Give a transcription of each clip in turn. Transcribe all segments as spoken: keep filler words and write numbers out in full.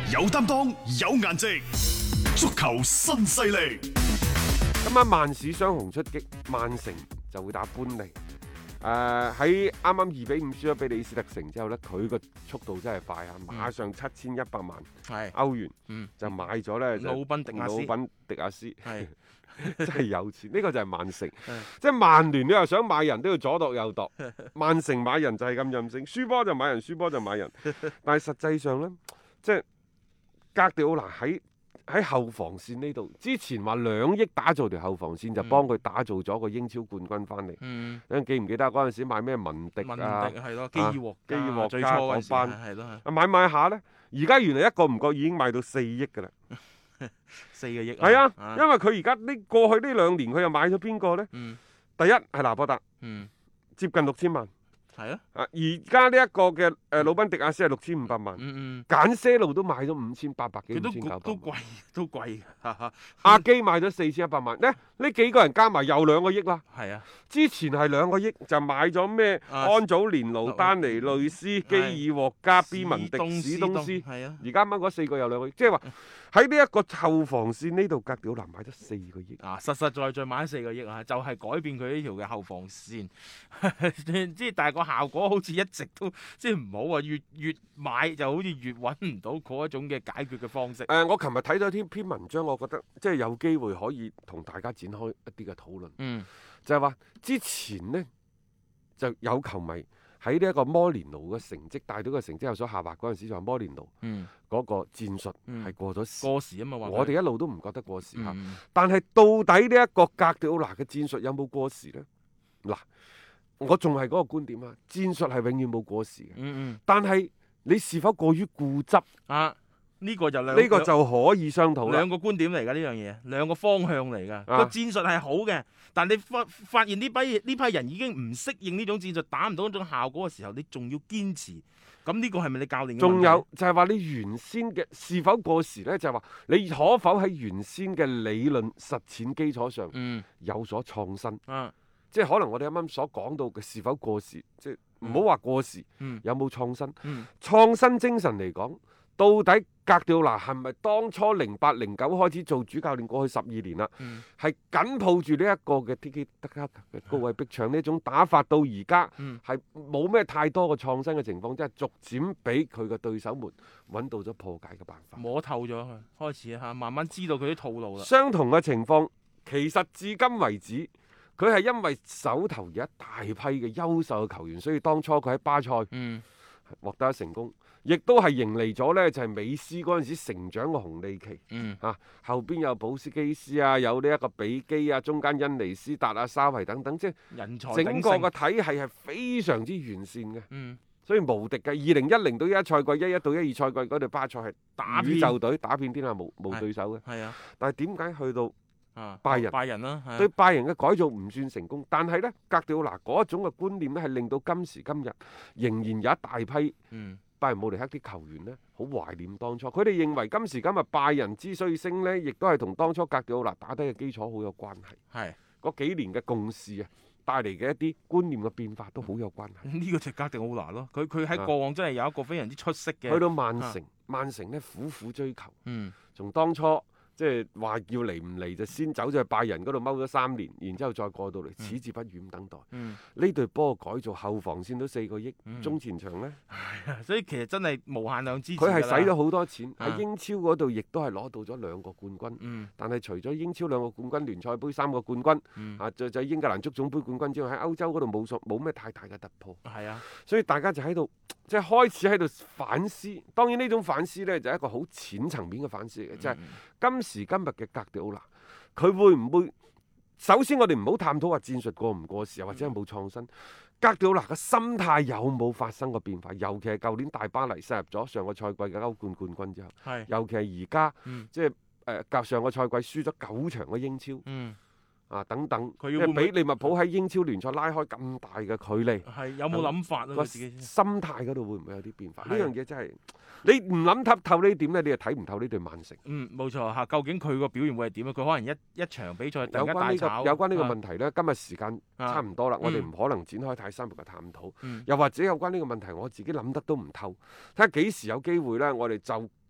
有擔當，有顏值，足球新勢力。 今晚曼市雙雄出擊，曼城就會打般尼。誒喺啱啱二比五輸咗俾李斯特城之後呢，佢個速度真係快啊！馬上七千一百萬歐元、嗯、就買咗呢魯賓迪亞斯， 魯賓迪亞斯係真係有錢。呢、呢個就係曼城，即係曼聯你又想買人都要左度右度，曼城買人就係咁任性，輸波就買人，輸波就買人。但係實際上呢，即係哥迪奧拿喺喺後防線呢度，之前話兩億打造條後防線，就幫佢打造咗個英超冠軍翻嚟。 嗯， 你記唔記得嗰陣時買咩文迪啊？ 文迪係咯，基爾獲基爾獲最初嗰班係咯， 啊買買下呢，而家原來一個唔覺已經賣到四億㗎啦。 四個億。 係啊， 啊因為佢而家呢過去呢兩年佢又買咗邊個呢？ 嗯， 第一係拿波達， 嗯， 接近六千萬。 係啊， 啊，而家呢一個嘅誒魯賓迪亞斯係六千五百萬， 嗯嗯， 簡些路都買咗五千八百幾， 佢都五千九百都貴都貴嘅， 阿基買咗四千一百萬，呢呢幾個人加埋又兩個億啦。 係啊， 之前係兩個億就買咗咩？ 啊安祖連奴、丹尼雷斯、基爾獲加、B 文迪、史東斯， 係啊， 而家啱啱嗰四個有兩個億，即係話喺呢一個後防線呢度，哥迪奧拿買咗四個億。 啊，實實在在買咗四個億啊，就係、是、改變佢呢條嘅後防線，即係但係個效果好似一直都即係唔好啊，越越買就好似越揾唔到嗰一種嘅解決嘅方式。 誒、呃，我琴日睇咗篇篇文章，我覺得即係有機會可以同大家展開一啲嘅討論。 嗯， 就係話之前呢，就有球迷喺呢一個摩連奴嘅成績帶隊嘅成績有所下滑嗰陣時，就話摩連奴嗰個戰術係過咗時、 嗯、過時啊嘛。 我哋一路都唔覺得過時嚇， 嗯、但係到底呢一個哥迪奧拿嘅戰術有冇過時呢？嗱，我仲係嗰個觀點啊，戰術係永遠冇過時嘅。 嗯嗯， 但係你是否過於固執啊？呢、這個就兩呢個就可以商討啦。 兩個觀點嚟㗎呢樣嘢，兩個方向嚟㗎。個、啊、戰術係好嘅，但你發發現呢批呢批人已經唔適應呢種戰術，打唔到嗰種效果嘅時候，你仲要堅持，咁呢個係咪你教練嘅問題？仲有就係、是、話你原先嘅是否過時呢？就係、是、話你可否喺原先嘅理論實踐基礎上有所創新？ 嗯啊、 即係可能我哋啱啱所講到嘅是否過時，即係唔好話過時， 嗯、 有冇創新？ 嗯、 創新精神嚟講，到底哥迪奧拿係咪當初零八零九開始做主教練，過去十二年啦，係緊、嗯、抱住呢一個嘅 Tiki Taka 嘅高位逼搶呢種打法，到而家係冇咩太多嘅創新嘅情況，即係逐漸俾佢嘅對手們揾到咗破解嘅辦法， 摸透咗佢，開始嚇慢慢知道佢啲套路啦。 相同嘅情況，其實至今為止，佢係因為手頭有一大批嘅優秀嘅球員，所以當初佢喺巴塞嗯獲得成功。亦都係迎嚟咗呢，就係、是、美斯嗰陣時成長嘅紅利期。 嗯， 啊，後邊有保斯基斯啊，有呢一個比基啊，中間恩尼斯達啊、沙維等等，即係人才整個個體系係非常之完善嘅。 嗯， 所以無敵嘅。二零一零到一一賽季，一一到一二賽季嗰隊巴塞係打宇宙隊，打遍天下無無對手嘅。 係啊， 但係點解去到啊拜仁？ 拜仁啦，啊、 對拜仁嘅改造唔算成功，但係呢，哥迪奧拿嗰一種嘅觀念呢，係令到今時今日仍然有一大批。 嗯。 拜仁慕尼黑啲球員呢，好懷念當初。佢哋認為今時今日拜仁之所以升呢，亦都係同當初哥迪奧拿打低嘅基礎好有關係。 係嗰幾年嘅共事啊，帶嚟嘅一啲觀念嘅變化都好有關係。 呢個就哥迪奧拿咯，佢佢喺過往真係有一個非常之出色嘅。 去到曼城， 啊、 曼城呢苦苦追求。 嗯， 從當初。即係話要嚟唔嚟就先走咗去拜仁嗰度踎咗三年，然之後再過到嚟，矢志不渝咁等待。呢隊波改造後防線都四個億， 嗯、 中前場呢， 所以其實真係無限量支持。 佢係使咗好多錢喺、 啊、 英超嗰度，亦都係攞到咗兩個冠軍。 嗯、 但係除咗英超兩個冠軍、聯賽杯三個冠軍， 嗯、 啊，就就英格蘭足總杯冠軍之外，喺歐洲嗰度冇冇咩太大嘅突破。 係啊，所以大家就喺度即係開始喺度反思。當然呢種反思呢，就係一個好淺層面嘅反思嚟嘅，即係、嗯、今時今日嘅哥迪奧拿，佢會唔會？首先我哋唔好探討話戰術過唔過時，或者係冇創新。哥迪奧拿嘅心態有冇發生過變化？尤其係舊年大巴黎殺入咗上個賽季嘅歐冠冠軍之後， 係尤其係而家， 嗯、 即係誒隔上個賽季輸咗九場嘅英超。 嗯啊，等等， 佢要俾利物浦喺英超聯賽拉開咁大嘅距離， 係有冇諗法啊？ 個自己心態嗰度會唔會有啲變化？呢樣嘢真係你唔諗透透呢點咧，你就睇唔透呢隊曼城。 嗯，冇錯嚇。究竟佢個表現會係點啊？佢可能一一場比賽突然間大炒。 有關呢個有關呢個問題咧，今日時間差唔多啦， 啊、 我哋唔可能展開太深入嘅探討。 嗯、 又或者有關呢個問題，我自己諗得都唔透。睇下幾時有機會咧，我哋就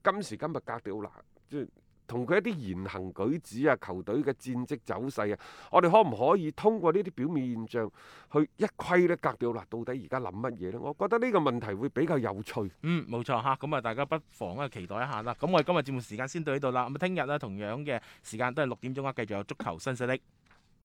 今時今日格迪奧拿即係同佢一啲言行舉止啊、球隊嘅戰績走勢啊，我哋可唔可以通過呢啲表面現象去一窺呢？格迪奧拿到底而家諗乜嘢呢？我覺得呢個問題會比較有趣。 嗯，冇錯嚇，咁啊大家不妨啊期待一下啦。咁我哋今日節目時間先到呢度啦。咁啊聽日咧同樣嘅時間都係六點鐘啊，繼續有足球新勢力。